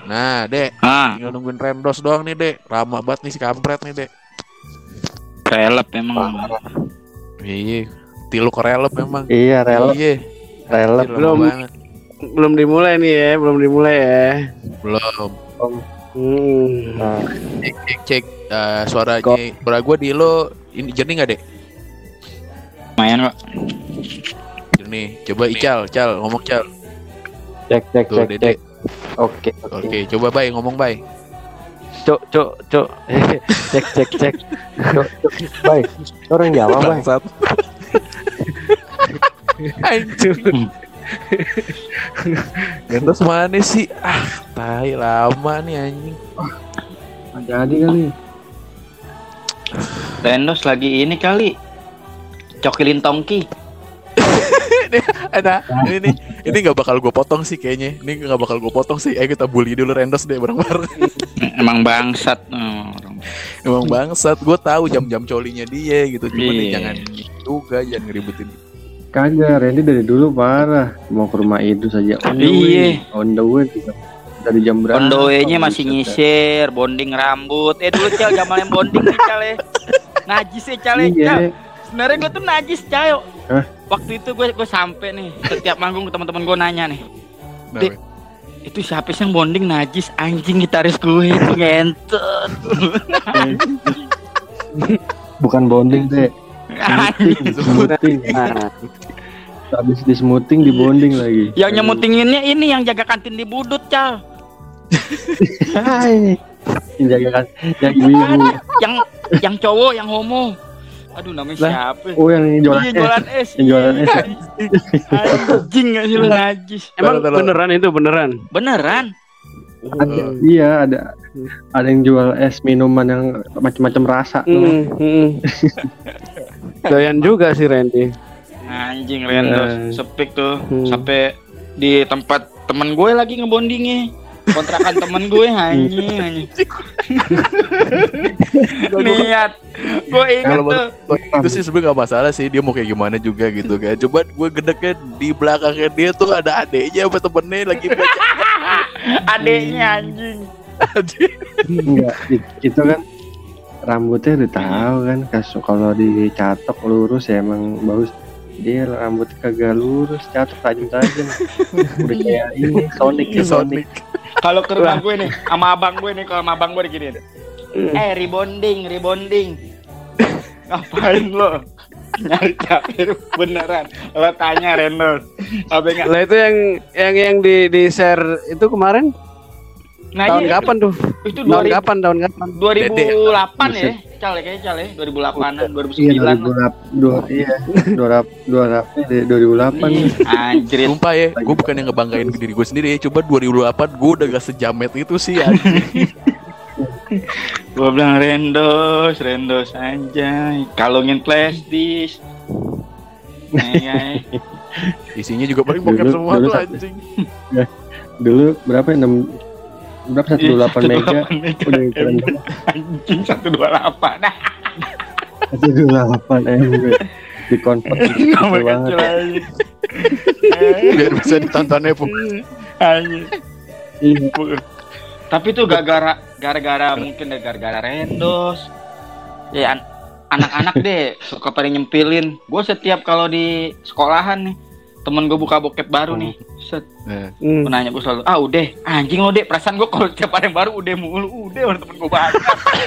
Nah, Dek. Tinggal nungguin Rendos doang nih, Dek. Lama banget nih si kampret nih, Dek. Relep emang. Iya. Tilu korelep memang. Iya, relep. Iya. Relep belum dimulai nih ya, belum dimulai ya. Belum. Nah, Cek suara gue di lo ini jernih nggak, Dek? Lumayan kok. Jernih. Coba Ical, ngomong Cal. cek. Oke. Coba Bay ngomong Bay. Cok. Cek. Cok. Baik. Orang Jawa, Bang. Anjir. Rendos mana sih? Tai lama nih anjing. Jadi kali. Rendos lagi ini kali. Cokilin tongki. Ini nggak bakal gue potong sih kayaknya. Ayo kita bully dulu Rendos deh bareng-bareng. Emang bangsat. Emang bangsat. Gue tahu jam-jam colinya dia gitu. Cuma jangan juga, jangan ngeributin. Kagak, Randy dari dulu parah. Mau ke rumah itu saja. On the way juga. Dari jam berapa? On the way-nya masih nyisir, bonding rambut. Dulu Cal, zaman yang bonding nih Cal ya. Najis ya Cal ya. Cal. Sebenarnya gue tuh najis Cal. Waktu itu gue sampai nih, setiap manggung teman-teman gue nanya nih. Dek, itu siapa sih yang bonding najis? Anjing gitaris gue itu ngentot. Bukan bonding deh. Smoothing. Nah, habis di smoothing di bonding lagi. Yang nyemutinginnya ini yang jaga kantin di Budut Cal. Yang jaga yang ibu. Yang cowok, yang homo. Aduh namanya siapa? Oh yang jualan es. Yang jualan es. Anjing gak sih lu najis. Emang beneran itu beneran? Iya ada yang jual es minuman yang macam-macam rasa. Doyan juga sih Randy. Anjing Rendos sepik tuh sampai di tempat temen gue lagi ngebondingnya. Kontrakan temen gue anjing. Niat gue inget tuh. Itu sih sebenarnya gak masalah sih, dia mau kayak gimana juga gitu kan. Coba gue gedeknya di belakangnya dia tuh ada adeknya apa temennya lagi baca. Adeknya anjing. Enggak, itu kan rambutnya udah tahu kan, kalau dicatok lurus ya emang bagus. Dia rambut kagak lurus, catok tajam-tajam. Udah kayak ini Sonic. Kalau ke rumah gue nih, sama abang gue nih, kalau sama abang gue diginiin. Rebonding. Ngapain lo? Nyari capir beneran. Lo tanya Rendos. Lah itu yang di share itu kemarin. Nah, tahun kapan tuh? Itu tahun kapan? 2008 ya? Cal 2008-an, 2009. Iya, 2008. Anjir. Sumpah ya, gue bukan yang ngebanggain diri gue sendiri ya. Coba 2008 gue udah gak sejamet itu sih anjir. Gue bilang Rendos anjay. Kalungin flash disk. Isinya juga paling bokep semua tuh anjing. Dulu berapa ya? 128 mega udah keren banget. Anjing 128. 128 di convert banget. Biar bisa ditontonnya pun. Anjing. Tapi tuh gara-gara mungkin gara-gara Rendos. Ya anak-anak deh suka pada nyempilin. Gue setiap kalau di sekolahan nih, temen gue buka bokep baru nih. Set. Gue nanya gue selalu, udah anjing lo deh, perasaan gue kalau tiap ada yang baru udah mulu, orang temen gue banyak.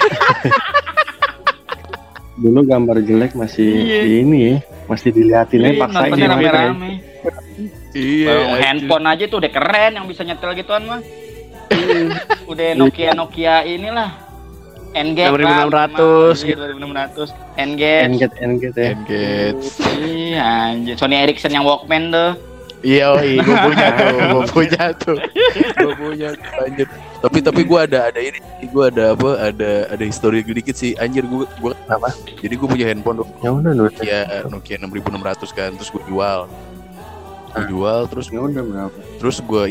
Dulu gambar jelek masih ini ya, masih diliatinnya paksain rame-rame. Iya, handphone aja tuh udah keren yang bisa nyetel gituan mah. Udah Nokia inilah. N-Gate 2600. N-Gate ya. Iya anjir, Sony Ericsson yang Walkman tuh. Iya, gue punya tuh anjir. Tapi gue ada ini, gue ada histori dikit sih anjir. Gue apa? Jadi gue punya handphone tuh. Ya udah Nokia 6600 kan, terus gue jual terus ya udah berapa? Terus gue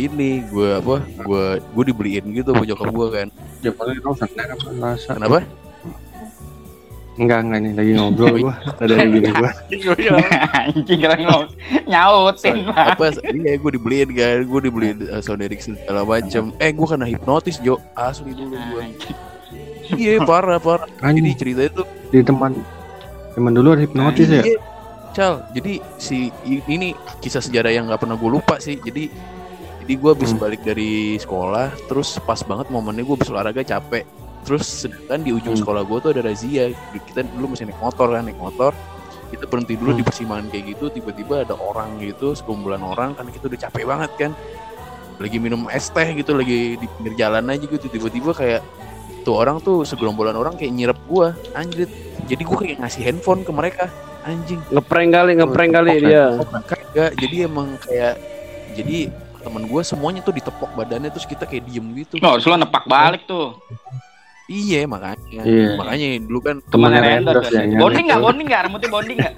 dibeliin gitu sama nyokap gue kan. Ya paling rusak apa rasa. Kenapa? Enggak nih lagi ngobrol gua. Ada gini gua. Anjing kira nyautin lah. Apa? Iya, gue dibeliin Sony Ericsson segala macem. Gue kena hipnotis Jo, asli dulu gue. Iya parah. Jadi cerita itu di teman dulu ada hipnotis ya. Cal, jadi ini kisah sejarah yang nggak pernah gue lupa sih. Jadi gue habis balik dari sekolah, terus pas banget momennya gue habis olahraga capek. Terus sedangkan di ujung sekolah gue tuh ada razia. Kita dulu masih naik motor. Kita berhenti dulu di persimpangan kayak gitu. Tiba-tiba ada orang gitu, sekumpulan orang, karena kita udah capek banget kan. Lagi minum es teh gitu, lagi di pinggir jalan aja gitu. Tiba-tiba kayak tuh orang tuh segerombolan orang kayak nyirep gue, anjir. Jadi gue kayak ngasih handphone ke mereka, anjing. Ngeprank kali dia. Kagak, jadi emang kayak temen gue semuanya tuh ditepok badannya, terus kita kayak diem gitu. Harus lo nepak balik tuh. Iya makanya dulu kan temannya Rendos ya. Bonding nggak rambutnya bonding nggak?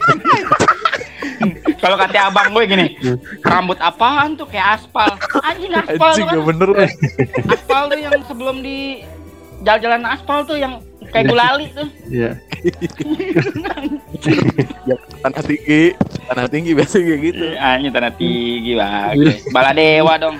Kalau kata abang gue gini, rambut apaan tuh kayak aspal. Anjing aspal tuh kan. Bener. Aspal tuh yang sebelum di jalan-jalan aspal tuh yang kayak gulali tuh. Iya. Ya, tanah tinggi biasa kayak gitu. Anjing tanah tinggi bagus. Baladewa dong.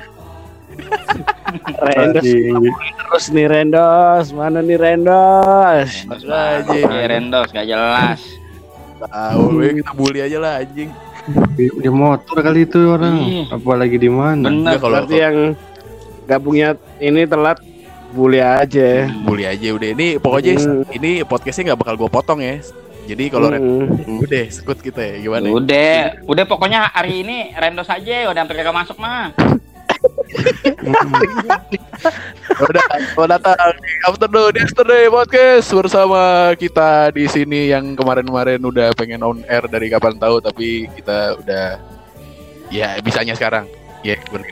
Rendos terus nih Rendos, mana nih Rendos? Rendos gak jelas. Tahu, kita bully aja lah anjing. Di motor kali itu orang, apalagi di mana? Bener, kalau yang gabungnya ini telat bully aja. Bully aja udah. Ini pokoknya ini podcastnya nggak bakal gue potong ya. Jadi kalau udah sekut kita ya gimana? Udah pokoknya hari ini Rendos aja udah sampai kagak masuk mah. Udah datang di Afternoon Podcast bersama kita di sini yang kemarin udah pengen on air dari kapan tahu, tapi kita udah ya bisanya sekarang. Ya bener.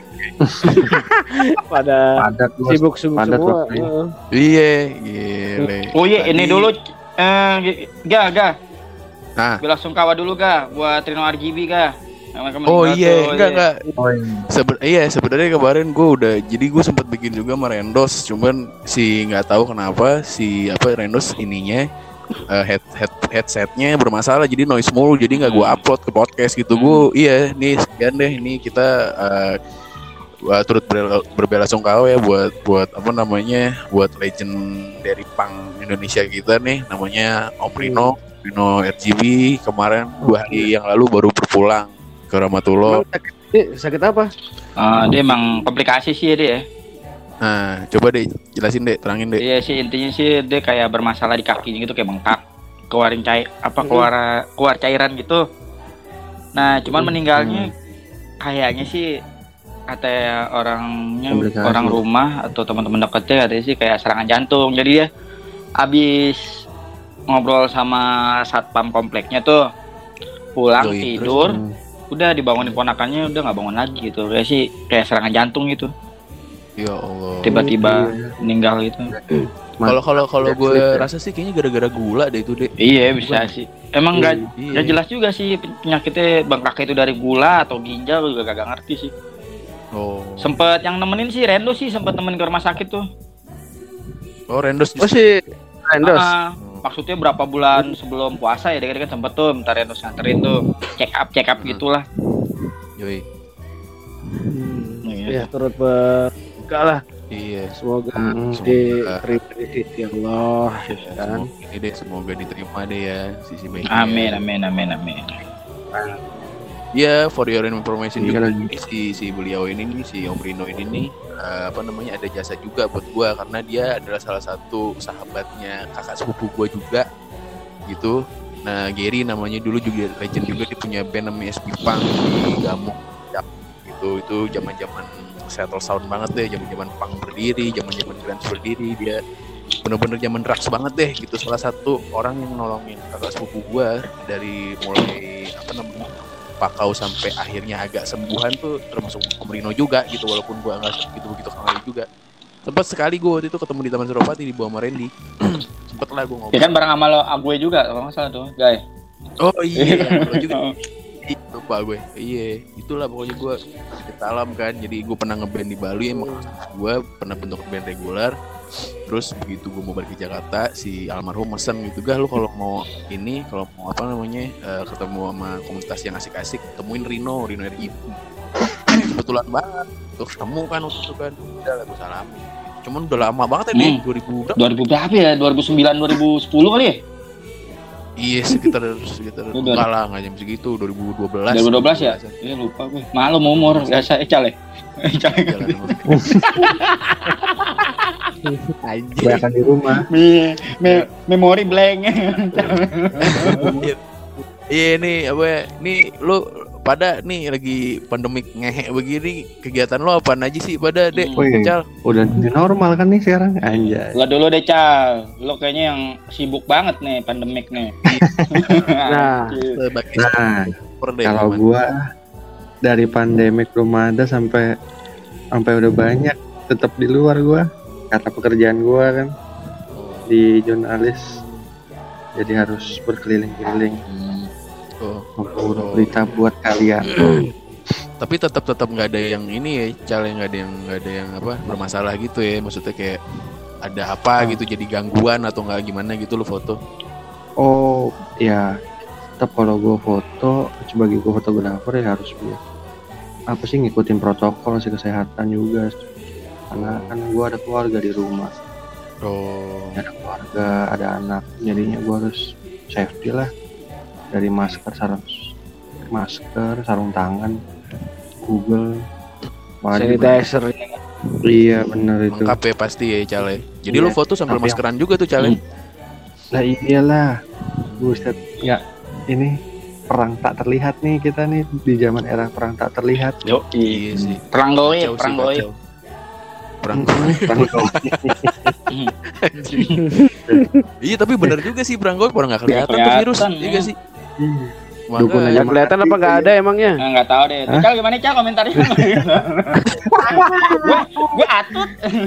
pada sibuk semua. Iya, gile. Oh iya, ini dulu Ga. Nah, bela sungkawa dulu Ga buat Trino RGB Ga. Oh iya, enggak. Sebenarnya kemarin gue sempat bikin juga sama Rendos, cuman nggak tahu kenapa Rendos ininya headsetnya bermasalah, jadi noise mulu, jadi nggak gue upload ke podcast gitu. Nih sekian deh, ini kita turut berbela sungkawa ya buat buat legend dari punk Indonesia kita nih, namanya Om Rino RGB. Kemarin 2 hari yang lalu baru berpulang ke Ramatullah. Sakit apa? Dia emang komplikasi sih dia. Nah, coba deh jelasin deh, terangin deh. Iya sih, intinya sih dia kayak bermasalah di kakinya gitu, kayak bengkak, keluar cairan gitu. Nah, cuman meninggalnya kayaknya sih kata orang rumah atau teman-teman dekatnya katanya sih kayak serangan jantung. Jadi dia abis ngobrol sama satpam kompleknya tuh, pulang tidur. Udah dibangunin ponakannya, udah nggak bangun lagi gitu. Kayak serangan jantung gitu. Ya Allah. Tiba-tiba meninggal gitu. Kalau gue rasa sih kayaknya gara-gara gula deh itu deh. Iya bisa sih. Emang nggak jelas juga sih penyakitnya bengkak itu dari gula atau ginjal, juga gak ngerti sih. Oh. Sempet yang nemenin sih Rendos sih, sempet nemenin ke rumah sakit tuh. Oh Rendos. Oh sih Rendos. Maksudnya berapa bulan sebelum puasa ya, dia kan sempet tuh minta Rendos nganterin tuh check up gitulah. Yoi. Ya turut berduka lah. Iya. Semoga diterima di sisi Allah. Kan? Semoga diterima deh ya sisi baiknya. Amin. Ya, for your information juga ini si beliau ini nih, si Om Rino ini nih, ada jasa juga buat gua, karena dia adalah salah satu sahabatnya kakak sepupu gua juga gitu. Nah, Gary namanya, dulu juga legend juga, dia punya band namanya SP Punk di Gamuk gitu. Itu zaman-zaman Seattle Sound banget deh, zaman-zaman punk berdiri, zaman-zaman grunge berdiri. Dia bener-bener zaman drugs banget deh gitu. Salah satu orang yang nolongin kakak sepupu gua dari mulai pakau sampai akhirnya agak sembuhan tuh termasuk Om Rino juga gitu, walaupun gua nggak begitu kenal juga. Sempat sekali gua waktu itu ketemu di Taman Suropati di bawah sama Randy. Sempet lah gua ngobrol. Ya kan bareng sama lo, gue juga kalau nggak salah tuh, guys. Oh iya, lo juga. Lupa gue. Iya, itulah pokoknya gua salam kan. Jadi gua pernah ngeband di Bali, emang gua pernah bentuk band regular. Terus begitu gue mau balik ke Jakarta, si almarhum mesen gitu, "Gah, lu kalau mau apa namanya ketemu sama komunitas yang asik-asik, temuin Rino RI." Kebetulan banget tuh ketemu kan waktu itu kan, udah lah gue salamin. Cuman udah lama banget ya, 2000 berapa ya? 2009 2010 kali ya? Iya, sekitar enggak lah, enggak jam segitu, 2012 ya? Iya, lupa gue. Maklum umur, biasa Cal ya. Banyakan di rumah. Memori blank. Iya nih, apa nih lu pada nih lagi pandemik ngehe begini, kegiatan lo apaan aja sih pada Dek? Cal, udah normal kan nih sekarang, anjay. Lo dulu deh Cal, lo kayaknya yang sibuk banget nih pandemik nih. Nah, kalau gua dari pandemik belum ada sampai udah banyak, tetap di luar gua karena pekerjaan gua kan di jurnalis, jadi harus berkeliling-keliling. Berita buat kalian. Tapi tetap nggak ada yang ini ya, Cal, nggak ada yang apa bermasalah gitu ya, maksudnya kayak ada apa gitu jadi gangguan atau nggak gimana gitu lo foto? Oh ya, tetap kalau gue foto sebagai gue fotografer ya harus apa sih ngikutin protokol sih kesehatan juga, karena kan gue ada keluarga di rumah. Ada keluarga, ada anak, jadinya gue harus safety lah. Dari masker, sarung tangan, Google, sanitizer. Iya benar itu. Lengkap ya pasti ya, Cal. Jadi lu foto sambil maskeran juga tuh, Cal. Lah iyalah. Buset, enggak ini perang tak terlihat nih kita nih di zaman era perang tak terlihat. Iya sih. Perang goib. Iya, tapi benar juga sih perang goib, orang nggak kelihatan tuh virus, iya sih. Dukun aja kelihatan apa nggak ada emangnya? Nggak tahu deh. Cal gimana Cal komentarnya? Gue atut.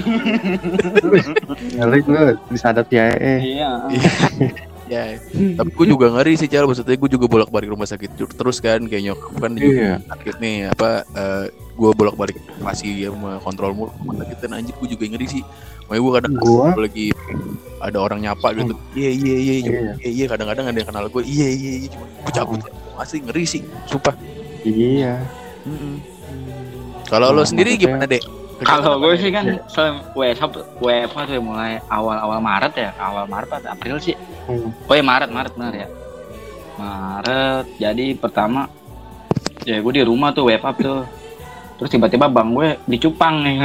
Ngeri gue disadap ya. Iya. Ya, tapi gue juga ngeri sih, Cal. Maksudnya gue juga bolak-balik rumah sakit terus kan, kayak nyokap kan juga sakit nih, gue bolak-balik masih sama kontrol mulu rumah sakit, dan anjir gue juga ngeri sih. Makanya gue kadang lagi ada orang nyapa gitu, iya kadang-kadang ada yang kenal gue, iya cuma gue cabut, masih ngeri sih, sumpah. Iya. Kalau lo sendiri gimana, Dek? Kalau gue sih kan WFH tuh mulai awal Maret ya, awal Maret atau April sih. Oh ya Maret benar ya. Maret. Jadi pertama ya gue di rumah tuh WFH tuh. Terus tiba-tiba bang gue di Cupang nih.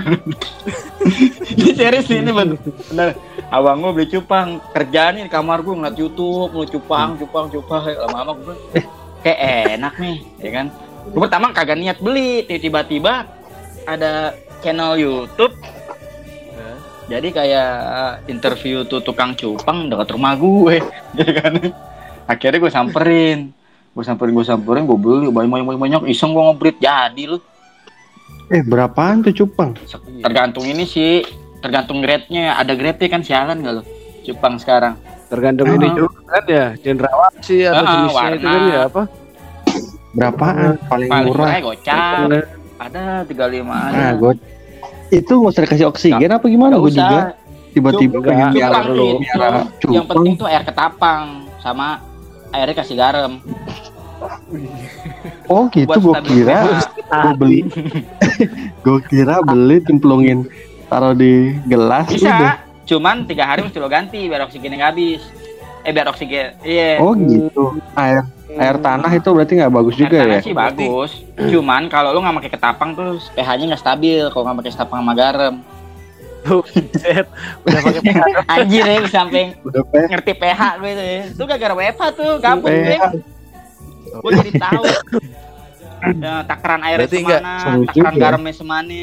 Ini serius ini bener. Abang gue beli Cupang, kerjaan di kamar gue ngeliat YouTube, lu Cupang. Lama-lama gue kayak enak nih, ya kan. Gue pertama kagak niat beli, tiba-tiba ada channel YouTube. Jadi kayak interview tuh tukang cupang dekat rumah gue, ya kan. Akhirnya gue samperin, gue beli banyak, iseng gue ngebrit jadi lu. Berapaan tuh cupang? Tergantung ini sih, tergantung grade-nya. Ada grade-nya kan, sialan gak lo cupang sekarang? Tergantung ini juga kan ya, cendrawasih atau jenisnya itu kan ya apa? Berapaan? Paling murah gocap. Ada 35 aja. Nah, itu nggak usah dikasih oksigen apa gimana? Gue juga tiba-tiba pengen biar lo. Yang penting tuh air ketapang sama airnya kasih garam. Oh gitu, gue kira beli cemplungin taruh di gelas. Bisa, udah. Cuman 3 hari mesti lo ganti biar oksigennya nggak habis. Biar oksigen, iya. Oh gitu. Air tanah itu berarti nggak bagus juga ya? Air tanah sih bagus. Cuman kalau lo nggak pakai ketapang tuh pH-nya nggak stabil. Kalau nggak pakai ketapang sama garam. Udah pakai pH. Anjir ya, sampai ngerti pH lo itu ya. Itu gara-gara WFH tuh, gabung gue. Gue jadi tahu. Takaran airnya semana, takaran garamnya semana.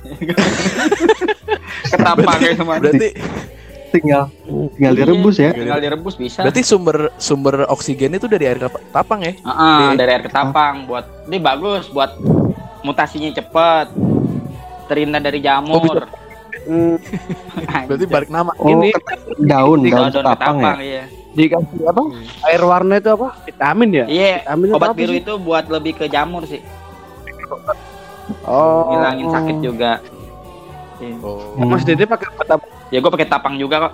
Ketapangnya semana. Berarti tinggal direbus ya. Tinggal direbus bisa. Berarti sumber oksigen itu dari air ketapang ya? Dari air ketapang. Ini bagus buat mutasinya cepat. Terhindar dari jamur. Berarti balik nama. Ini daun ketapang ya. Iya. Dikasih apa? Air warna itu apa? Vitamin ya? Iya. Vitamin obat biru itu buat lebih ke jamur sih. Oh. Ngilangin sakit juga. sih. Oh. Mas Dede pakai apa? Ya gue pakai tapang juga kok.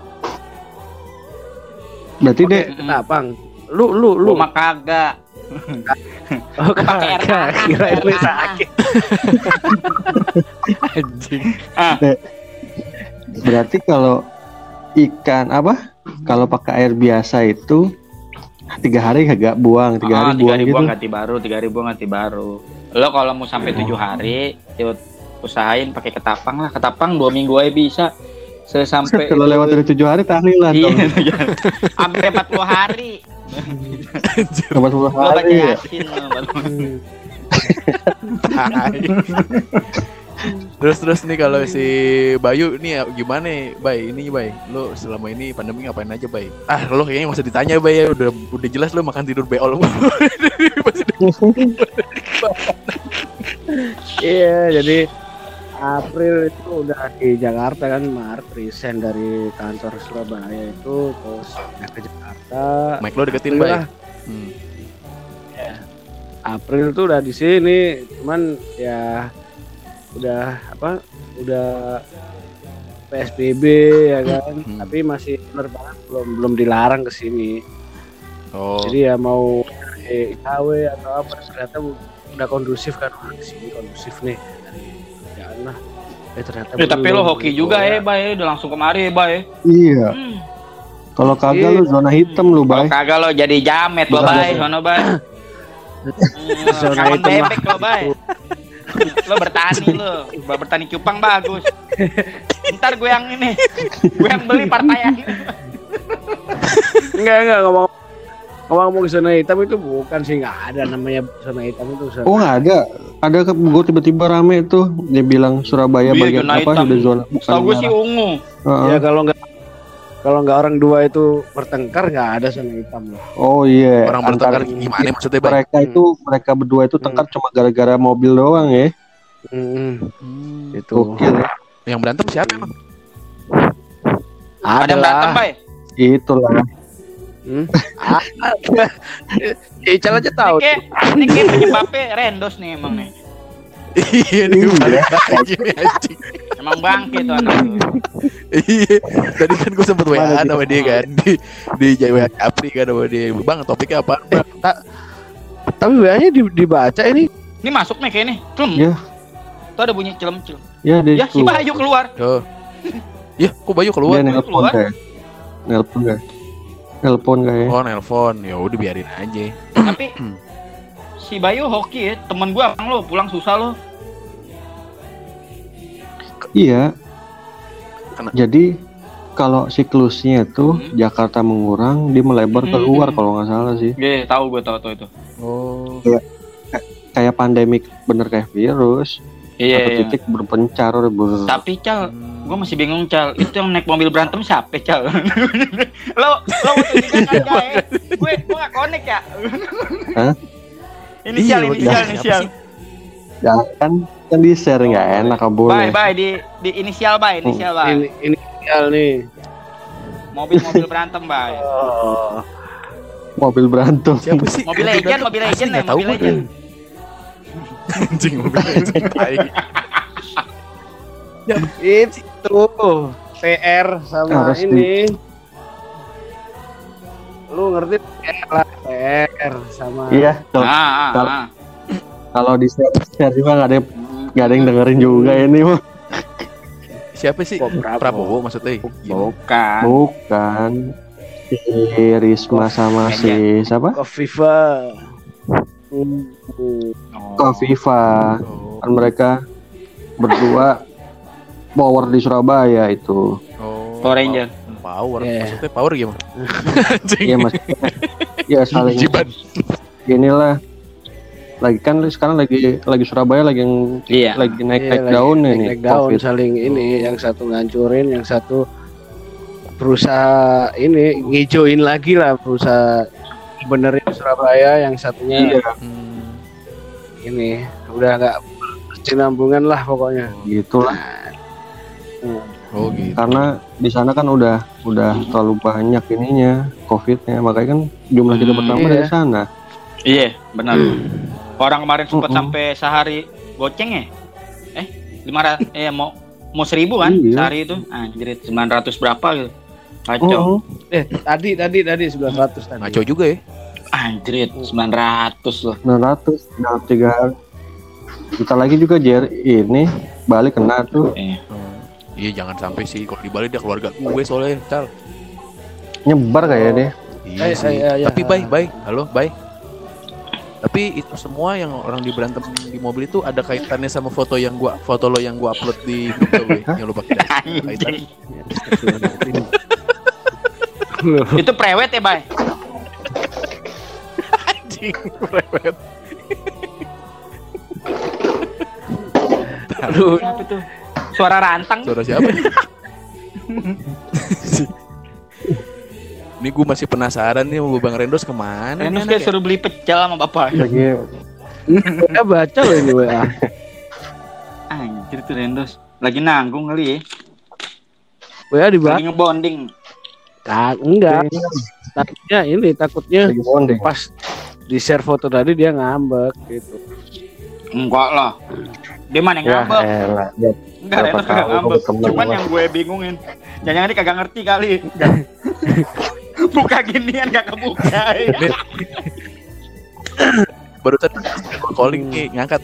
Berarti deh Tapang. Lu Gue mah kagak. oh, pakai air tanah. kira itu sakit. Anjing. berarti kalau ikan apa? Kalau pakai air biasa itu 3 hari kagak buang, 3 hari 3 buang hari gitu. buang ganti baru, 3 hari buang ganti baru. Lo kalau mau sampai 7 hari, ya usahain pakai ketapang lah. Ketapang 2 minggu aja bisa. Sampai Kalau lewat dari 7 hari tahlilan iya, dong. sampai 40 hari. 40 Lo baca hari ya. Yasin lo. Terus nih kalau si Bayu nih gimana nih, Bay? Ini Bay, lu selama ini pandemi ngapain aja, Bay? Lu kayaknya nggak usah ditanya, Bay, ya udah jelas lu makan tidur beol. Iya, jadi April itu udah di Jakarta kan, Maret resign dari kantor Surabaya itu, terus pindah ke Jakarta. Mike lo deketin, Bay. April tuh udah di sini, cuman ya udah PSBB ya kan, tapi masih bener banget belum dilarang ke sini. Oh. Jadi ya mau IKW atau apa, ternyata udah kondusif kan, di sini kondusif nih dari kerjaan lah. Ternyata Tapi lo hoki juga Bay, udah langsung kemari Bay. Iya. Kalau kagak lu zona hitam lu, Kalau Bay. kagak lo jadi jamet lo Bay, sono Bay. Zona Kawan hitam lah. bebek lo Bay. Lo bertani cupang bagus. Ntar gue yang beli partai ini. Enggak ngomong zona hitam itu bukan sih, nggak ada namanya zona hitam itu. Oh nggak ada gue tiba-tiba rame tuh dia bilang Surabaya Iya, bagian zona apa hitam. sudah zona bukan Setahu gue sih merah. ungu. Ya kalau nggak orang dua itu bertengkar, nggak ada zona hitam loh. Oh iya. Orang bertengkar gimana maksudnya, Bay? Mereka berdua itu tengkar cuma gara-gara mobil doang ya. Itu. Gokil ya. Yang berantem siapa emang? Ada yang berantem Bay. Itulah. Ical aja tahu. Ini kayak penyebabnya Rendos nih emang nih. Iya nih, gini anjing. Emang bangke tuh anak tuh. Iya, tadi kan gue sempet WA sama dia kan di WA Capri kan sama dia. Bang, topiknya apa? Tapi WA-nya dibaca ini. Ini masuk nih kayak nih. Celem. Iya. Tuh ada bunyi celem. Ya dia Ya si Bayu keluar. Oh. Ya, kok Bayu keluar? Dia nelpon kayak. Nelpon kayak. Oh, nelpon. Ya udah biarin aja. Tapi si Bayu hoki ya, temen gua abang lo pulang susah lo. Iya. Kena. Jadi kalau siklusnya itu Jakarta mengurang, dia melebar keluar kalau nggak salah sih. Iya, tahu gue tahu itu. Oh. Kayak pandemik bener kayak virus. Iya. Satu titik berpencar. Tapi Cal, gue masih bingung Cal. Itu yang naik mobil berantem siapa Cal? lo tunjukkan aja ya. Gue nggak connect ya. Hah? Inisial. Ya kan di share nggak enak kabulnya. Bye di inisial Bay. Inisial nih. Mobil berantem Bay. Oh. Mobil berantem. Siapa sih? Mobil Legend Nggak tahu Mobil gue. Legend. Anjing, mobil Legend. Itu PR sama Harus ini. Lu ngerti PR lah, PR sama. Iya. Kalau di share juga nggak ada yang dengerin juga ini mah. Siapa sih? Prabowo maksudnya? Bukan. Si Risma sama si siapa? Kofifa. Kofifa. Oh. Kan mereka berdua power di Surabaya itu. Oh. Power Ranger. Power. Yeah. Maksudnya power gimana? Iya mas. Ya saling. Jiban. Inilah. Sekarang lagi Surabaya lagi naik daun ini. Naik daun COVID. saling ini, yang satu ngancurin, yang satu berusaha ini ngijauin lagi lah, berusaha benerin Surabaya, yang satunya ini udah nggak berkesinambungan lah pokoknya. Gitulah. Oh gitu. Karena di sana kan udah terlalu banyak ininya COVID-nya, makanya kan jumlah kita bertambah dari sana. Iya, benar. Orang kemarin sempat sampai sehari goceng ya? 500 mau mau 1.000 kan Iya. sehari itu. Anjir 900 berapa gitu. Kacau. Tadi 900 tadi. Ngaco juga ya. Anjir 900 loh. 900 dalam 3 hari. Bentar lagi juga ini balik kena tuh. Iya jangan sampai sih kalau di Bali dia keluarga gue soalnya Cal. Nyebar kayak dia. Iya sih. Tapi bye. Halo, bye. Tapi itu semua yang orang di berantem di mobil itu ada kaitannya sama foto lo yang gua upload di grup gue yang lo pakai. Kaitan. Itu prewed ya, Bay? Anjing, prewed. Aduh, apa itu? Suara rantang. Suara siapa nih? Ini gue masih penasaran nih mau Bang Rendos kemana? Rendos kayak suruh beli pecel sama bapak. Lagi Baca loh ini WA. Anjir tuh Rendos. Lagi nanggung kali ya. WA dibaca. Lagi ngebonding. Enggak. Takutnya lagi bonding. pas di share foto tadi dia ngambek gitu. Enggak lah. Dia mana yang ngambek? Elah. Enggak, Rendos kagak ngambek. Cuman yang gue bingungin. Jangan-jangan dia kagak ngerti kali. Buka ginian gak kebuka ya. Barusan calling nih ngangkat.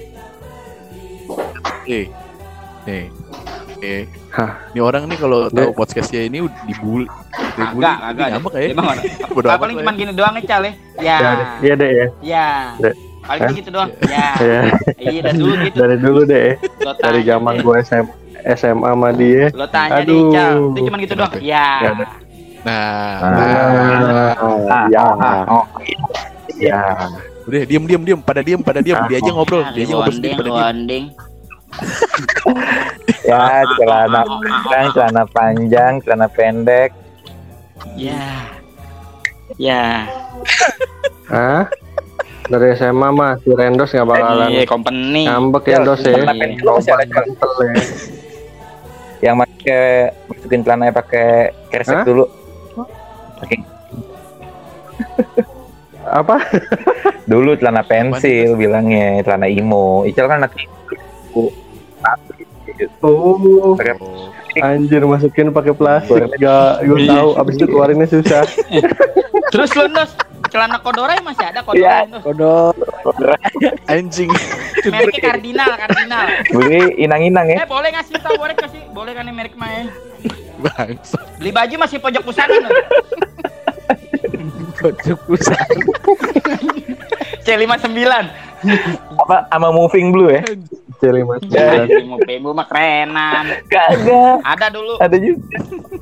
Ini orang nih kalau tahu podcastnya ini dibully. Kagak. Ngambek ya. Apa paling cuma gini doang nih, Cal ya. Ya. Iya deh ya. Ya. Dek. Paling gitu doang. Ya. Ya. Iya, dari dulu gitu. Dari dulu deh. Lo Dari tanya zaman deh. gue SMA sama dia. Lo tanya deh, Aduh. Cal. Itu cuma gitu doang. Ya. Ya. Ya. Udah diam. Pada diam. Dia aja ngobrol. Dia aja ngobrol sendiri pada diam. Bonding. Ya, celana panjang, celana pendek. Ya. Ya. Hah? Dari SMA mah si Rendos nggak bakalan Iya, company. ngambek ya Dos ya. Celana pendek lu masih ada Kental ya. yang masukin celananya pakai kresek Hah? dulu. Pakai Apa? dulu celana pensil bilangnya, celana imo. Ical kan anak imo. Oh, Pakai anjir masukin pakai plastik. Gak, gue tahu. Abis itu keluarinnya susah. Terus lo Dos, celana Kodorai masih ada Iya. Kodorai Dos. Anjing. Mereknya Cardinal. beli inang-inang ya. Boleh ngasih tahu, boleh kan nih merek main. Bangsa. Beli baju masih pojok pusat kan? Pojok pusat. C59. Apa sama moving blue ya? C5. Mau pemu mah kerenan. Kagak. Ada dulu. Ada juga.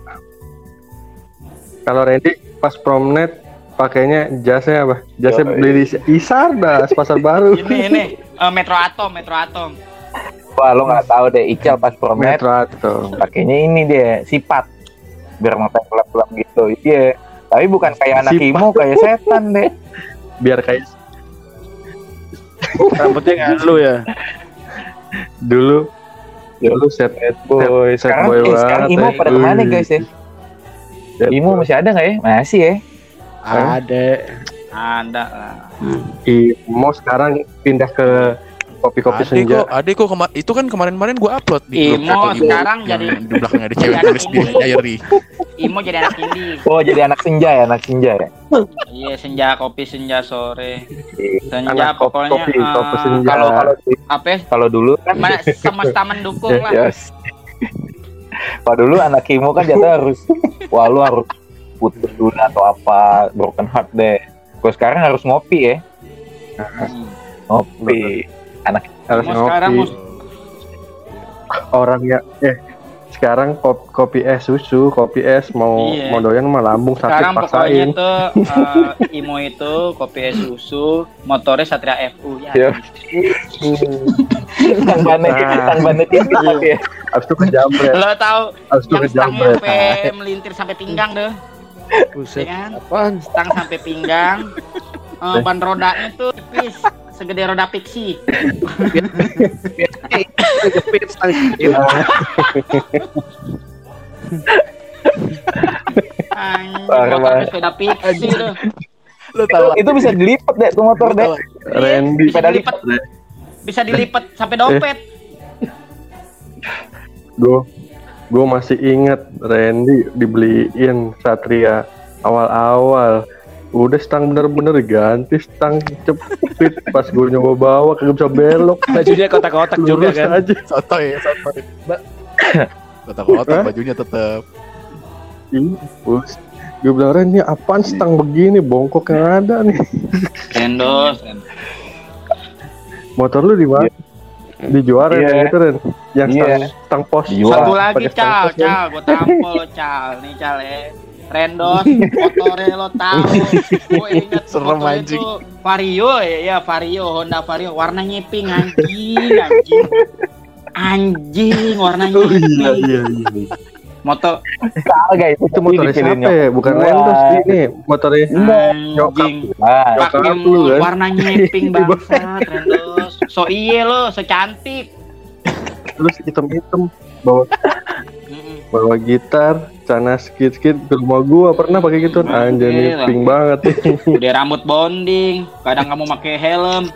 Kalau Randy pas promnet pakainya jasnya apa? Jasnya beli di Isar dah, pasar baru. Ini Metro Atom. Wah, lo nggak tahu deh, Ical pas promet Metro atau pakainya ini dia sifat biar mata gelap-gelap gitu. Iya. Tapi bukan kayak anak Sifat. imo, kayak setan deh. biar kayak Rambutnya nggak lu ya. dulu set boy Sekarang banget. sekarang imo pada kemana guys ya? Imo masih ada nggak ya? Masih ya. Ada. Ada lah. Imo sekarang pindah ke kopi-kopi senja. Ade kok itu kan kemarin gua upload di grup Imo foto sekarang yang jadi di belakangnya ada cewek jadi tulis anak di indie. diary. Imo jadi anak indie. Oh, jadi anak senja ya? Iya, senja kopi senja sore. Senja Anak pokoknya kopi senja. Kalau apa ya? kalau dulu kan Semesta mendukung lah. yes. Kalau dulu anak imo kan jatuh harus lu harus putus dulu atau apa, broken heart deh. Kalau sekarang harus ngopi ya. Ngopi. Harus Imo sekarang ngopi. Orang ya sekarang kopi es susu, kopi es mau Iya. mau doyan mah lambung sakit sekarang pokoknya paksain. tuh Imo itu kopi es susu, motornya Satria FU ya. Iya. Tang bannya tinggi tapi ya. Abis itu kejamret. Lo tahu Abis itu yang stangnya kejamret. sampai melintir sampai pinggang deh. Buset. Ya kan? Apaan? Stang sampai pinggang. Ban rodanya tuh tipis, segede roda pixie. Kejepit stang. Anjing, Parah motor banget. sepeda pixie tuh. Lo tahu Itu bisa dilipat deh tuh motor deh. Randy Bisa dilipat sampai dompet. Gue masih inget Randy dibeliin Satria awal-awal. Udah stang bener-bener ganti stang cepet. Pas gue nyoba bawa kagak bisa belok. Bajunya kotak-kotak juga Lurus kan. aja. Sotoy. Kotak-kotak bajunya tetep. Gue bilang Ren, ini apaan stang begini bongkok yang ada nih. Rendos. Motor lu di mana? Dijual Ren, yang itu Ren. Yang stang pos. Satu lagi Pakai stang Cal, pos, Ren. gue tampol lo Cal. Nih Cal Rendos, motornya lo tahu. Gue inget Serem, motornya anjing. tuh Vario ya, Vario, Honda Vario, warnanya pink anjing, warnanya pink. Iya. Motor Kagak itu Itu motornya siapa ya? Bukan Rendos ini, motornya anjing, pakai Nyokap lu kan? warnanya pink bangsat, Rendos. So iye lo, so cantik. terus hitam-hitam bawa gitar, celana skit-skit ke rumah gua pernah pakai gitu. Anjir nih Gila. pink banget nih. Udah rambut bonding, kadang kamu pakai helm.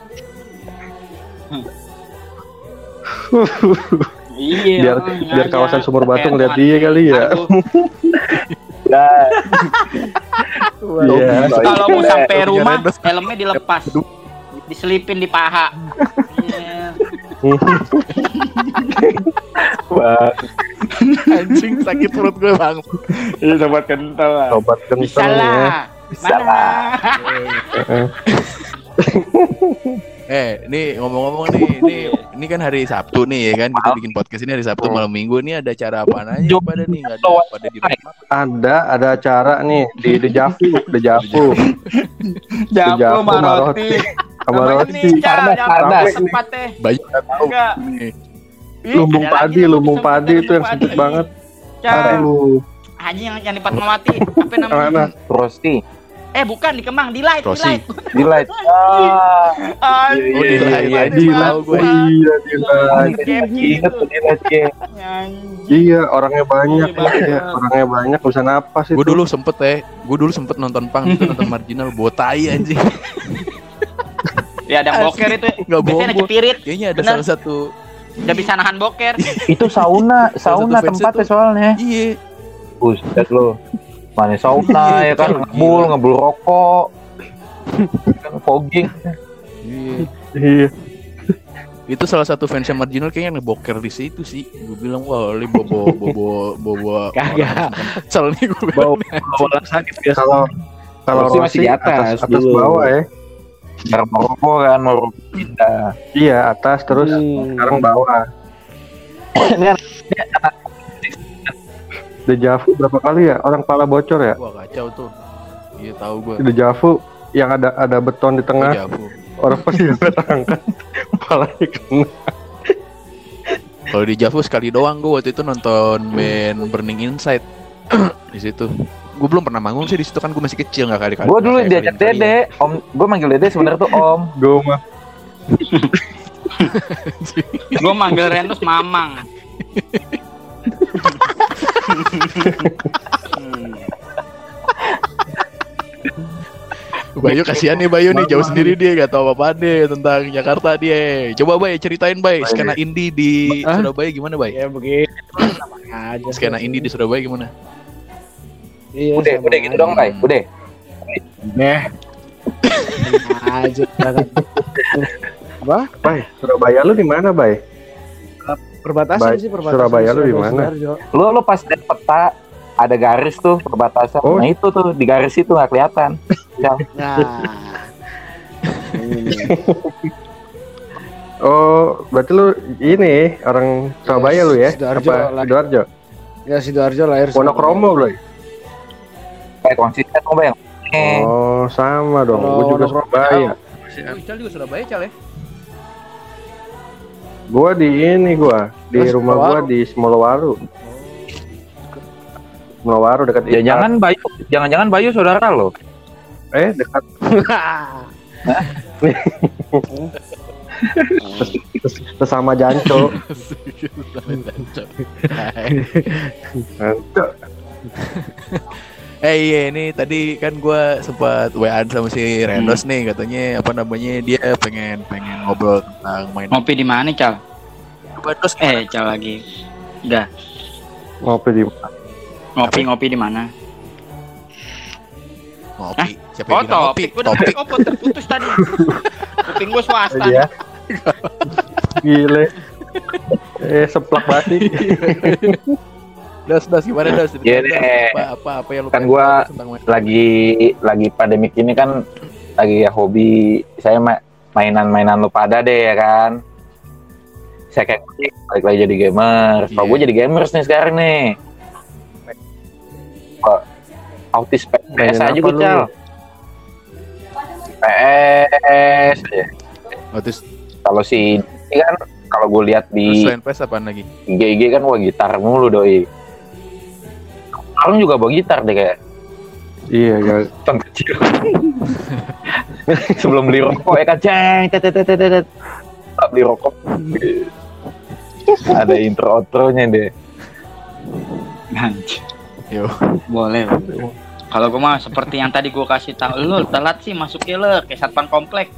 Iya. biar kawasan Sumur Batu ngeliat dia kali ya. Iya. Kalau mau sampai Punya rumah, Rendos. helmnya dilepas, diselipin di paha. Iya. Anjing sakit perut gue bang. Ini sobat kental lah. Obat Bisa kentang ya. lah. Mana? Nih ngomong-ngomong nih, ini kan hari Sabtu nih ya kan, kita bikin podcast ini hari Sabtu malam Minggu nih, ada acara apaan aja pada nih, nggak ada pada di rumah. Ada acara nih di Dejavu. Jago Maroti. Sama Namanya roti. nih, Cal, Pardas, yang pardas. tempat teh. Banyak nggak tahu Enggak. nih. Ih, Lumbung ada lagi padi, yang lumbung disebut padi itu yang lumbung sempit padi. banget. Cal, Aduh, anjing yang di Fatmawati, apa namanya? mana? Rosti Bukan di Kemang, di Light, Rosi. di light. Anjing. Oh, di Light, Anjing. di Light. Tahu gue. Iya, di Light. Ingat tuh di light ya. Anjing. Iya, orangnya banyak Iya, ya. Orangnya banyak, bisa napas itu. Gue dulu sempet nonton pang itu, nonton marginal botai anjing. Ya ada boker itu. Nggak Biasanya bohong. cepirit. Kayaknya ada Bener. salah satu. Udah bisa nahan boker. Itu sauna satu fans tempatnya itu. soalnya. Iya. Buset lo. Mana sauna ya kan, ngebul rokok. Kan fogging. Iya. Iya. Itu salah satu fansnya marginal kayaknya ngeboker di situ sih. Gue bilang wah ini bobo Kagak. Cel nih gue Bawa bilang. bola sakit biasa. Kalau Rossi masih di atas atas dulu. bawah ya. Rokok kan mau pindah. Iya, atas terus sekarang bawah. Dejavu berapa kali ya? Orang pala bocor ya? Wah kacau tuh. Iya tahu gue. Dejavu yang ada beton di tengah. Javu. Orang pasti angkat palanya kena. Kalau di Javu sekali doang gue waktu itu nonton band Burning Inside di situ. Gue belum pernah manggung sih di situ kan gue masih kecil nggak kali-kali. Gue dulu diajak Dede, Om. Gue manggil Dede sebenarnya tuh Om. Gue mah Gue manggil Rendos Mamang. Bayu kasihan nih Bayu nih jauh sendiri dia gak tahu apa deh tentang Jakarta dia. Coba Bay ceritain Bay skena indie di Surabaya gimana Bay? Ya begitu. Aja. Skena indie di Surabaya gimana? Iya. Udah gitu dong, Bay. Udah. Deh. Aja. Apa? Bay, Surabaya lu di mana, Bay? Perbatasan Baik, sih perbatasan. Surabaya lu di mana? Sidoarjo. Lu pas lihat peta ada garis tuh perbatasan. Oh. Nah itu tuh di garis itu nggak kelihatan. Ya. Nah. Ini. Oh, berarti lu ini orang Surabaya lu ya? Sidoarjo, Apa lah. Sidoarjo? Ya Sidoarjo lahir. Wonokromo lu. Kayak konsisten tuh Bang. Oh, sama dong. Kalau Gua juga Wonokromo Surabaya. Oh, Ical juga Surabaya Cal ya? Gua di Terus rumah gua Simowaru. di Semolowaru. Semolowaru dekat Ya jangan Bayu saudara lo. dekat sesama Janco. Iya ini tadi kan gue sempat WA sama si Rendos nih katanya apa namanya dia pengen ngobrol tentang main Ngopi di mana, Cal? Terus Cal lagi. Enggak. Ngopi di Ngopi di mana? Ngopi. Siapa Oh, yang bilang ngopi? topik. Gua udah terputus tadi. Kuping gua swasta. aja. Gile. Seplak banget. Das gimana Das? Iya deh. Apa yang lu Kan pengen gua tahu tentang main? lagi pandemik ini kan lagi ya hobi saya mainan lu pada deh ya kan. Saya kayak balik lagi jadi gamer. Kalau Iya. gue jadi gamers nih sekarang nih. Kok autis PS Mainin aja apa gue lu? Cal. PS aja. Terus Kalau si ini kan kalau gue lihat di selain PS apaan lagi? IG kan wah gitar mulu doi. Orang juga bawa gitar deh kayak Iya, gak. tahun kecil. Sebelum beli rokok ya kan ceng tetetetetet. Beli rokok. Ada intro outronya deh. Anjir. Yo. Boleh. Kalau gue mah seperti yang tadi gue kasih tahu, lu telat sih masuknya lo kayak satpam komplek.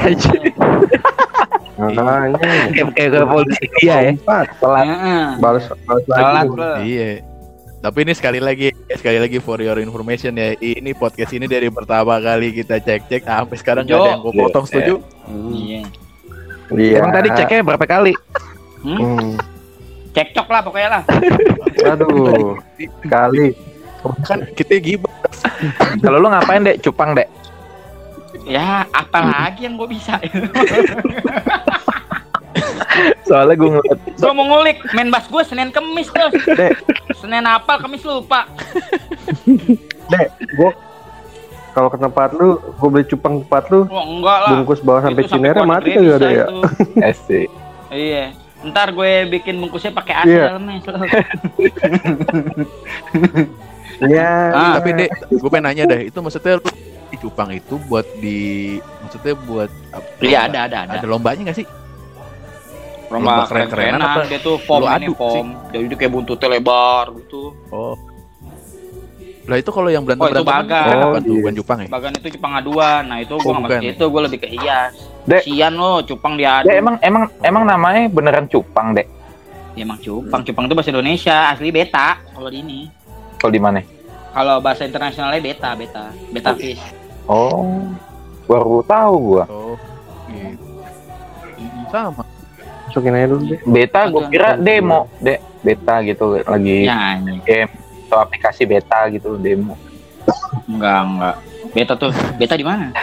Makanya. Kayak ke polisi dia ya. Telat. Heeh. Balas Telat lagi. lo. Iya. Tapi ini sekali lagi for your information ya. Ini podcast ini dari pertama kali kita cek sampai sekarang nggak ada yang gue potong, setuju? Iya. Iya. Emang tadi ceknya berapa kali? Cekcok lah pokoknya lah. Aduh. Kali. Kan kita gibah. Kalau lu ngapain dek? Cupang dek? Ya, apalagi yang gue bisa. Soalnya gue ngeliat Gue mau ngulik main bass gue Senin Kemis terus. Dek, Senin apal Kemis lupa. Dek, gua kalau ke tempat lu, gua beli cupang tempat lu, Oh, enggak lah. bungkus bawa sampai Itu sampai Cinere keluar mati negeri kagak ada bisa ya? itu. sih. Iya. Ntar gue bikin bungkusnya pakai Iya. asal mes. Iya. Tapi Dek, gue pengen nanya deh, itu maksudnya lu di cupang itu maksudnya buat apa? Iya ada. Ada lombanya nggak sih? Lomba keren-kerenan keren-kerenan apa? dia tuh foam Lu ini adu foam. Jadi dia kayak buntutnya lebar gitu. Oh. Lah itu kalau yang Oh, itu berantem-berantem bagan. kan apa Oh, tuh? iya. Bukan cupang ya? Bagan itu cupang aduan. Nah, itu gue Oh, nggak bukan. masuk itu, gue lebih ke hias. Dek. Sian lo, cupang diadu. Dek emang namanya beneran cupang dek? Ya, emang cupang. Cupang itu bahasa Indonesia, asli beta kalau di ini. Kalau di mana? Kalau bahasa internasionalnya beta fish. Oh, baru tahu gua. Oh. Gitu. Sama. Masukin aja dulu deh. Beta gua kira demo, dek. Beta gitu lagi Ya, anjing. game atau aplikasi beta gitu demo. Enggak. Beta di mana?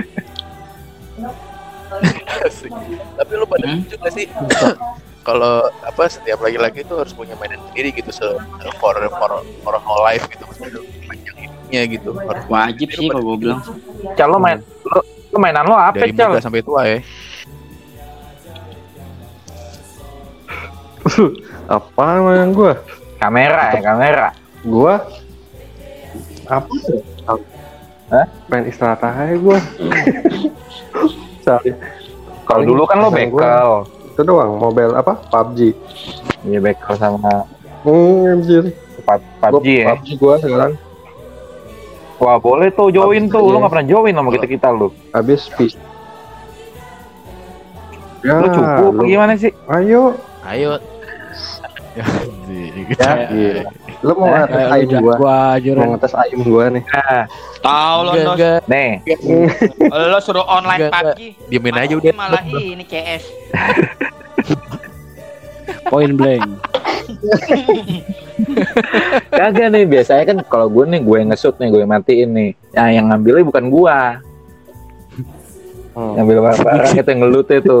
Tapi lu pada juga sih kalau apa setiap laki-laki itu harus punya mainan sendiri gitu for whole life gitu maksudnya panjang hidupnya gitu harus Wajib sih kalau gue bilang. Cal lo lu mainan lo apa dari Cal? muda sampai tua ya. Apa mainan gua? Kamera. Gua apa tuh? Hah? Main istirahat aja gua. Sorry. Kalau dulu kan lo bekel. Itu doang, mobile apa? PUBG. Iya bekel sama Anjir. PUBG ya. PUBG gua sekarang Wah boleh tuh join tuh. Iya. Lo nggak pernah join sama kita lu. habis PC. Ya, Lu cukup apa gimana sih? Ayo. Ayo. Ya, Ya, gila. Lu mau ngetes ayam gua? Mau ngetes ayam gua nih. Tahu lo, Dos. Enggak, Nih, Lo suruh online Enggak, PUBG. diemin aja Masukin udah. malah ini CS. Point blank. kagak nih biasanya kan kalau gue nge-shoot nih, gue matiin nih. Nah, yang ngambilnya bukan gua. Ngambil barang itu yang ngelut itu.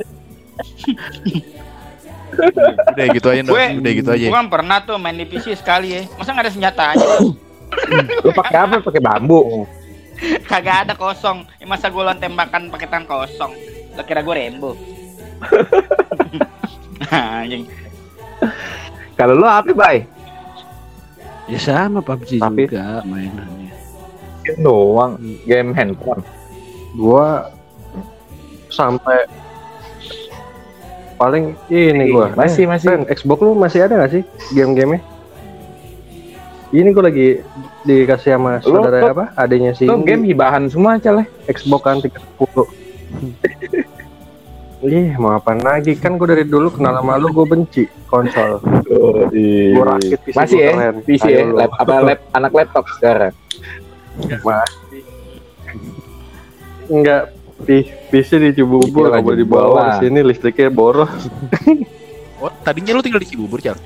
Udah gitu aja, Dos. Udah gitu aja. Gue kan pernah tuh main di PC sekali ya. Masa nggak ada senjata aja? Lu pakai apa? Pakai bambu. Kagak ada kosong. Ya, masa gue lawan tembakan pakai tangan kosong. Lo kira gue Rembo? Anjing. Kalau lu apa, Bay? Ya sama PUBG Tapi- juga mainannya. Game doang, game handphone. Gua sampai paling ini gua. Masih. Ren, Xbox lu masih ada gak sih game-gamenya? Ini gua lagi dikasih sama Lu- saudara lu- apa? Adanya si Lu game hibahan semua, Cal. Xbox kan 310. Mau apa lagi? Kan gue dari dulu kenal sama lu, gue benci konsol. Gue rakit PC Masih gua ya? keren. PC ya? Anak laptop sekarang? Masih. Enggak, PC di Cibubur, Iya, gak boleh dibawa ke sini, listriknya boros. Oh, tadinya lu tinggal di Cibubur, Cal?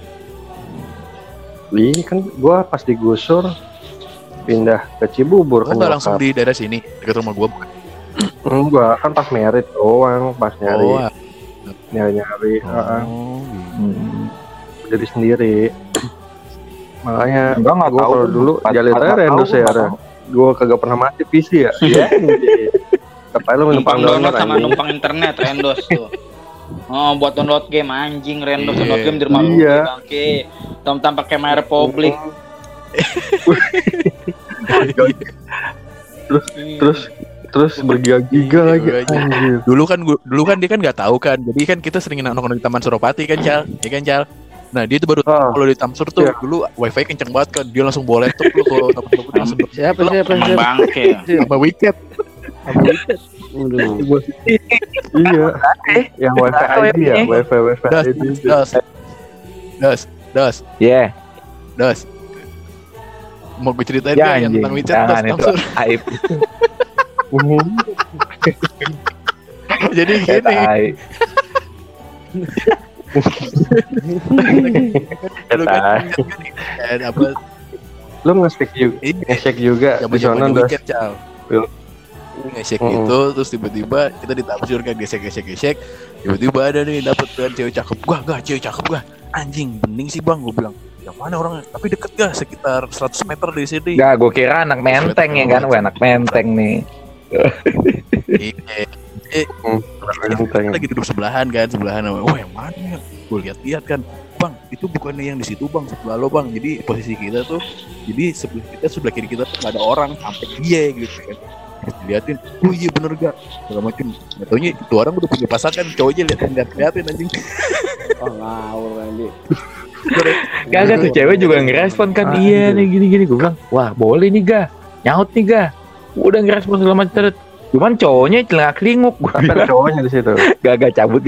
Kan gue pas digusur pindah ke Cibubur. Oh, nggak langsung di daerah sini, dekat rumah gua bukan? Enggak, kan pas merit doang, pas nyari Oh, nyari. oh, Jadi sendiri. Makanya Enggak, nggak gue tahu kalau tuh. dulu Pas- jalin pas- aja nggak Rendos tahu, ya. nggak tahu. Gue kagak pernah mati PC ya. Iya. Tapi lu Numpang numpang download download sama anjing. numpang internet Rendos tuh. Oh, buat download game anjing Rendos Iya. download game di rumah lu Iya. bangke. Tam pakai My Republic. Terus bergiga-giga lagi. Iya, iya. Anjir. Dulu kan dia kan nggak tahu kan, jadi kan kita sering nongkrong di Taman Suropati kan, Cal, ya kan, Cal. Nah dia tuh baru tahu kalau di Tamsur tuh Iya. dulu wifi kenceng banget kan, dia langsung bawa laptop lu kalau Taman Suropati langsung Siapa? Emang bangke. sama wicket. Waduh. Iya. Yang wifi ID ya, wifi Das, ID. das. Iya. Das. Mau gue ceritain Ya, gak yang anjing. tentang WeChat Jangan Das itu Tamsur? aib. Jadi gini, Aib. dulu kan apa Lu nge-check juga, ini nge-check juga di sana zaman-zaman Das. WeChat, Cal. Iya. Nge-check gitu, terus tiba-tiba kita di Tamsur kan gesek, tiba-tiba ada nih dapet kan cewek cakep, gak cewek cakep gak, anjing bening sih bang, gue bilang yang mana orangnya, tapi deket gak, sekitar 100 meter dari sini. Enggak, gue kira anak menteng ya kan, anak menteng nih. Kita lagi duduk sebelahan sama, oh yang mana ya, gue lihat kan, bang itu bukannya yang di situ bang, sebelah lo bang, jadi posisi kita tuh, jadi sebelah kiri kita tuh gak ada orang, sampai dia gitu kan. Terus diliatin, oh iya bener gak, segala macem. Gak taunya itu orang udah punya pasangan, cowoknya liatin anjing. Oh ngawur Randy. Kagak tuh cewek juga ngerespon kan, iya nih gini-gini. Gue bilang, wah boleh nih ga, nyaut nih ga. Udah ngerespon segala macam. Cuman cowoknya celingak-celinguk. Gue Tapi ada bilang, cowoknya di situ. gak cabut.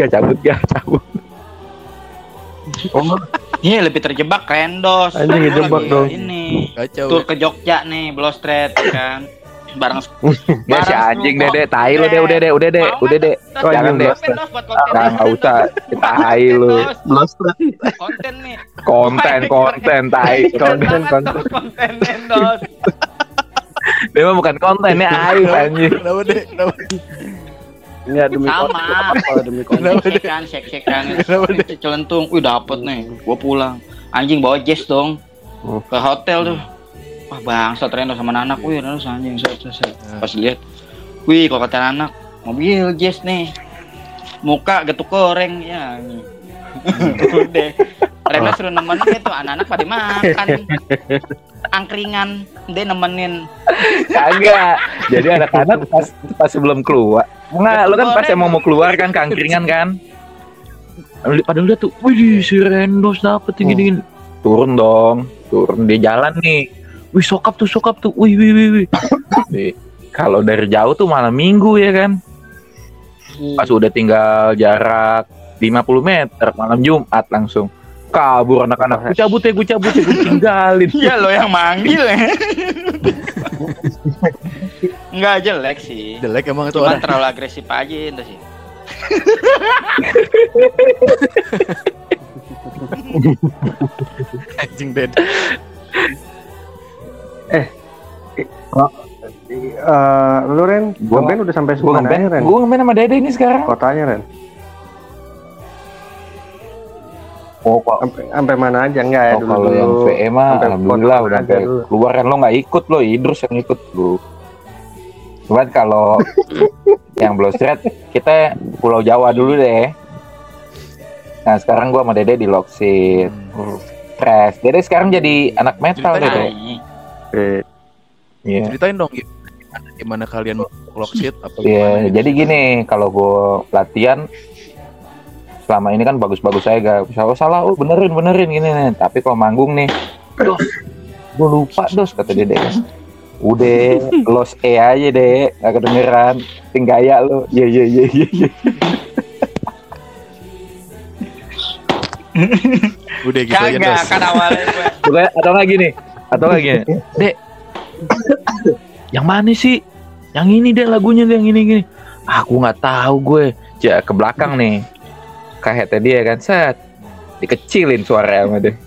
Oh, Iya lebih terjebak Rendos. Anjing, Gua ngejebak lagi dong. Ini Kacau. tur ke Jogja nih, Blostret kan. Bareng Ya si anjing deh, tai lu deh, udah deh. Oh, Jangan anjing, deh. Blostret. Nggak usah, tai lu. Blostret. Konten nih. Konten, tai. Konten. Konten Rendos. Dia mah bukan konten, ini aib anjing. Kenapa deh? Enggak demi Sama. konten. Apa demi konten? Kenapa deh? Shake kan. Kenapa deh? Celentung. Wih dapet nih. Gua pulang. Anjing bawa Jess dong. Ke hotel tuh. Wah bangsat Rendos sama anak. Wih Rendos anjing. Set. Pas lihat. Wih kalau kata anak. Mobil Jess nih. Muka getuk goreng ya. Udah. Rendos suruh nemenin itu anak-anak pada makan. Angkringan. Dia nemenin. Kagak. Jadi anak-anak pas sebelum keluar. Enggak, lu kan pas emang mau keluar kan kangkringan kan. Padahal udah tuh, wih si Rendos dapet gini. Turun dong, turun di jalan nih. Wih sokap tuh, wih. Nih, kalau dari jauh tuh malam minggu ya kan. Pas udah tinggal jarak 50 meter malam Jumat langsung kabur anak-anak. Gue cabut, gue tinggalin. Iya lo yang manggil ya. Enggak jelek sih. Jelek emang itu Cuman orang. terlalu agresif aja itu sih. Anjing dead. Lu Ren, Gua- Ben udah sampai Gue mana ngeband, Ren? gue ngeband sama Dede ini sekarang. Kotanya Ren. Oh, Sampai mana aja enggak ya dulu? kalau yang VE mah Sampai alhamdulillah kota udah aja sampai dulu. keluar kan, lo nggak ikut, lo Idrus yang ikut lu. Cuman kalau yang Blostret kita Pulau Jawa dulu deh. Nah sekarang gua sama Dede di Loksit. Trash. Dede sekarang jadi anak metal Ceritain Dede. Eh, Iya. Ceritain dong gimana kalian Loksit apa Iya, gimana gitu. jadi gini, kalau gue latihan selama ini kan bagus-bagus saya gak salah, benerin gini nih. Tapi kalau manggung nih, dos, gue lupa dos kata Dede. Udah, los aja deh, gak kedengeran, ting gaya lo. Iya. Udah gitu aja Kagak Dos. kan awalnya gue. Pokoknya atau lagi nih. Dek. Yang mana sih? Yang ini deh lagunya deh, yang ini. Aku nggak tahu gue. Ja, ke belakang nih. Kahetnya dia kan set. Dikecilin suaranya sama dia.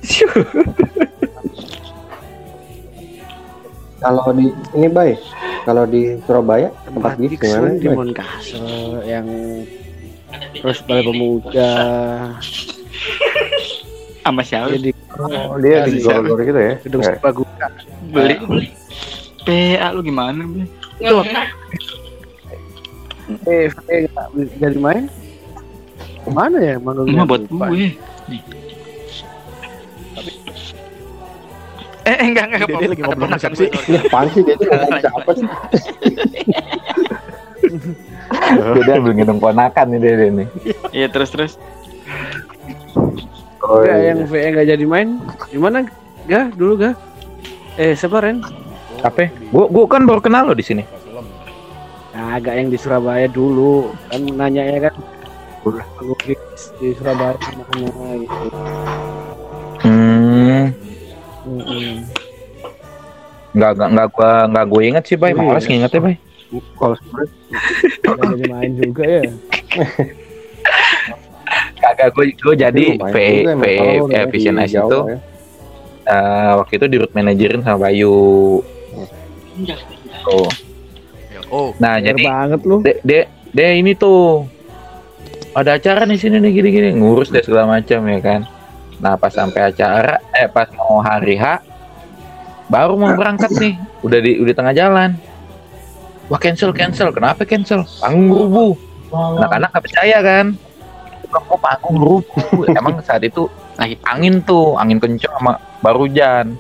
Kalau di ini Bay, kalau di Surabaya tempat gigs gimana? di Bay? Moncastle yang terus Balai Pemuda Sama siapa? jadi Oh, dia di Siapa? Gor-Gor gitu ya? gedung Nggak. Serbaguna. Beli. PA lu gimana, Be? Nggak jadi main mana ya manggungnya? Emang buat Lupa. gue. Enggak Dia lagi ngobrol sama siapa sih? Ini apaan sih dia tuh ngomong siapa sih? Dia ambil gendong ponakan nih dia nih. Iya, terus. Oh, Nggak, iya. yang VE nggak jadi main gimana ga dulu ga siapa Ren? Apa? Gua kan baru kenal lo di sini. Nah, agak yang di Surabaya dulu kan nanya ya kan manggung gigs di Surabaya mana gitu. Nggak gue inget sih, Bay. Males ngingetnya, Bay. Kalau sebenarnya Nggak jadi main juga ya. Kagak, gue jadi lumayan VE juga emang kalau udah di Vision S Jawa itu ya. waktu itu di root manajerin sama Bayu. Tuh. Oh, Nah, Bener jadi banget lu. dia ini tuh ada acara di sini nih gini-gini, ngurus deh segala macam ya kan. Nah, pas sampai acara pas mau hari H baru mau berangkat nih, udah tengah jalan. Wah, cancel. Kenapa cancel? Panggung rubuh. Anak-anak nggak percaya kan. Kok panggung rubuh? Emang saat itu lagi angin kencang sama baru hujan.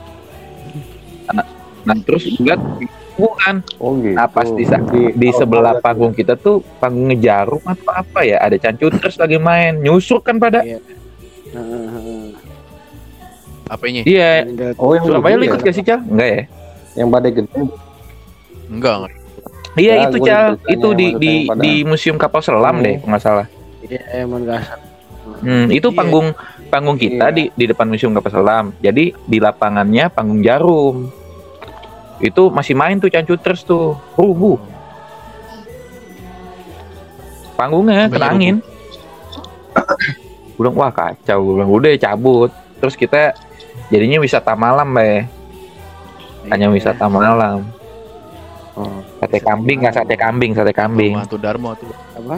Nah, terus lihat bukan. Oh gitu. Nah, pas di sebelah panggung kita tuh panggung ngejarum atau apa ya, ada Cancutres lagi main, nyusuk kan pada. apanya? Iya. Oh yang Surabaya lu dulu ikut ya? gak sih, Cal? Enggak ya? Yang badai gede. Enggak. Iya, Ya, itu gua Cal. ikut Itu tanya di yang pada- di Museum Kapal Selam deh, kalau nggak salah. Iya emang gasat. Itu Iya. panggung kita Iya. di depan Museum Kapal Selam. Jadi di lapangannya panggung jarum. Itu masih main tuh Cancutres tuh. Rubuh. Panggungnya kena angin. Gue bilang, wah kacau. Gue bilang, udah cabut. Terus kita jadinya wisata malam, Bay. Hanya wisata malam. Oh. Sate kambing, nggak sate kambing. Rumah tuh Darmo tuh. Apa?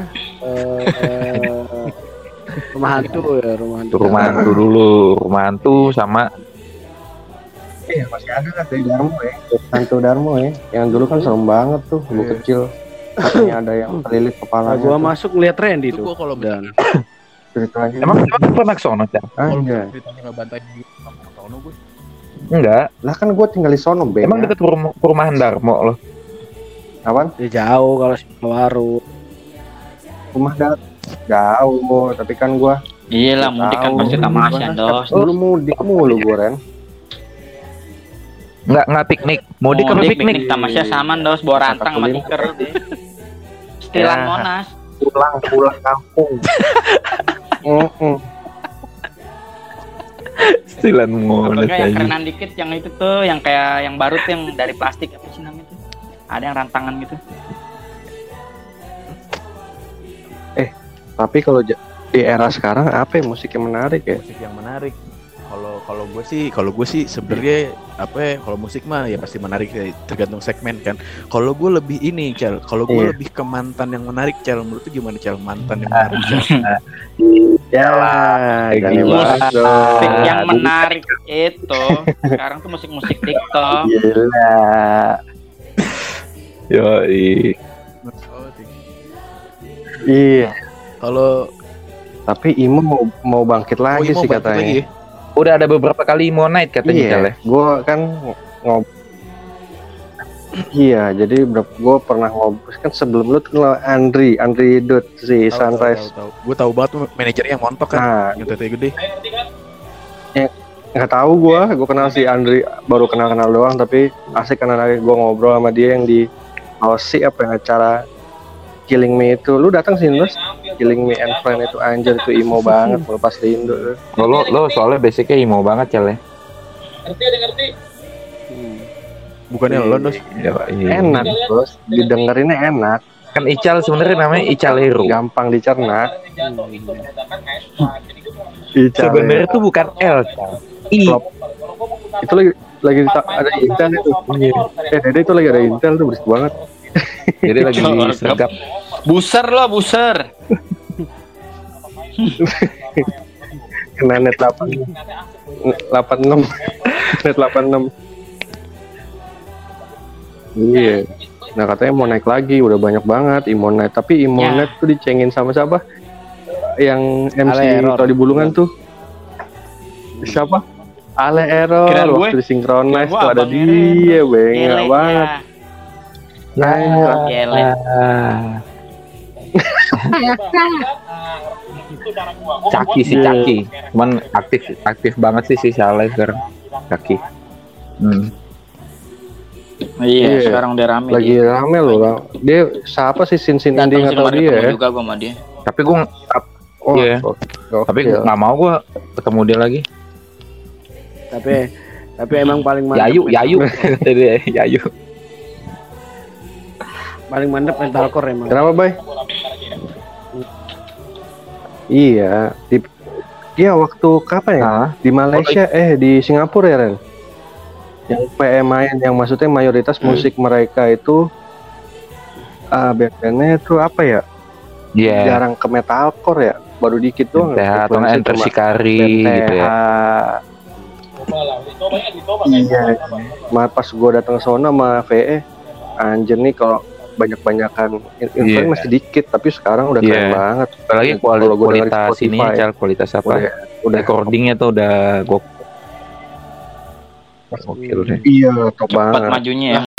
Rumah hantu ya, rumah hantu. Tuh rumah hantu dulu, rumah hantu sama Iya masih ada kan dari Darmo ya. Hantu Darmo ya. Yang dulu kan serem banget tuh, dulu Iya. kecil. Katanya ada yang kelilit Nah, kepalanya. gua tuh. masuk ngeliat Randy Itu tuh. gua kalau Dan Ceritanya. emang pernah ke sono, Cak? kalau Anjay. ceritanya nggak bantai di Tono gue. Enggak. Lah kan gue tinggal di sono Ben. Emang ya. deket perumahan Darmo loh. Apaan? ya jauh kalau Waru. Rumah jauh, tapi kan gue Iya lah, mudik kan tahu. pasti tamasya, Dos. dulu mudik mulu gue Ren. Enggak piknik. Mudik apa piknik? Tamasya sama, Dos. Bawa rantang sama tikar deh. Stilan Ya. Monas. Pulang kampung. Stilan Apa Monas kayak yang aja. kerenan dikit yang itu tuh, yang kayak yang baru tuh yang dari plastik apa sih namanya tuh? Ada yang rantangan gitu. Tapi kalau di era sekarang apa ya musik yang menarik ya? Musik yang menarik. Kalau gue sih sebenarnya apa ya, kalau musik mah ya pasti menarik ya, tergantung segmen kan. Kalau gue lebih ini, Cel. Kalau gue Iya. lebih ke mantan yang menarik, Cel. Menurut lu gimana, Cel? Mantan yang menarik, Cel? Ya, Gila. gini banget dong. Musik yang menarik itu sekarang tuh musik-musik TikTok. Gila. Yoi. Iya. Kalau Tapi Imo mau bangkit lagi Imo sih balik katanya. lagi ya? Udah ada beberapa kali mau night katanya, Cal, ya. Iya, gue kan Iya, jadi gue pernah ngobrol kan sebelum lu kenal Andri Dut si Sunrise. Gue tahu banget tuh manajernya yang montok kan, Nah, yang tete gede. nggak tahu gue kenal si Andri baru kenal doang tapi asik karena gue ngobrol sama dia yang di Aussie apa yang acara Killing Me itu. Lu datang sih Nus? Killing Me and Friend itu anjir itu emo banget pas di Indo. Lo soalnya basicnya emo banget Cel ya. Bukannya lo Nus? Enak bos, didengerinnya enak. Kan Ical sebenarnya namanya Icalero. Gampang dicerna. Sebenarnya tuh bukan L, Cal. I. Itu lagi ada Intel itu. Dede itu lagi ada Intel tuh berisik banget. Jadi lagi disergap. Buser lo, buser. Kena net 86. Net 86. Iya. Nah katanya mau naik lagi, udah banyak banget Imonet. Tapi Imonet tuh dicengin sama siapa? Yang MC Todi Bulungan tuh. Siapa? Ale Error. Waktu disinkronize tuh ada dia, bengak banget. Caki sih Caki. Cuman aktif banget sih si Saleh sekarang. Caki. Iya, sekarang udah rame. Lagi rame loh. Dia siapa sih Sin Indie nggak tahu dia. Juga gua sama dia. Tapi gua tapi nggak mau gua ketemu dia lagi. Tapi emang paling mantep. Yayu. Yayu. Paling mantep metalcore emang. Kenapa, Bay? Iya, waktu kapan ya? Di Malaysia, di Singapura ya, Ren? Yang PM main, yang maksudnya mayoritas musik mereka itu band-bandnya itu apa ya? Jarang ke metalcore ya, baru dikit doang. Atau Enter Shikari gitu ya. Iya. Pas gue datang ke sana sama VE, anjir nih kalau banyak-banyakan influence masih dikit, tapi sekarang udah keren banget. Apalagi kualitas ini, kualitas apa? Udah recordingnya tuh udah gokil deh. Iya, top banget. Cepat majunya ya.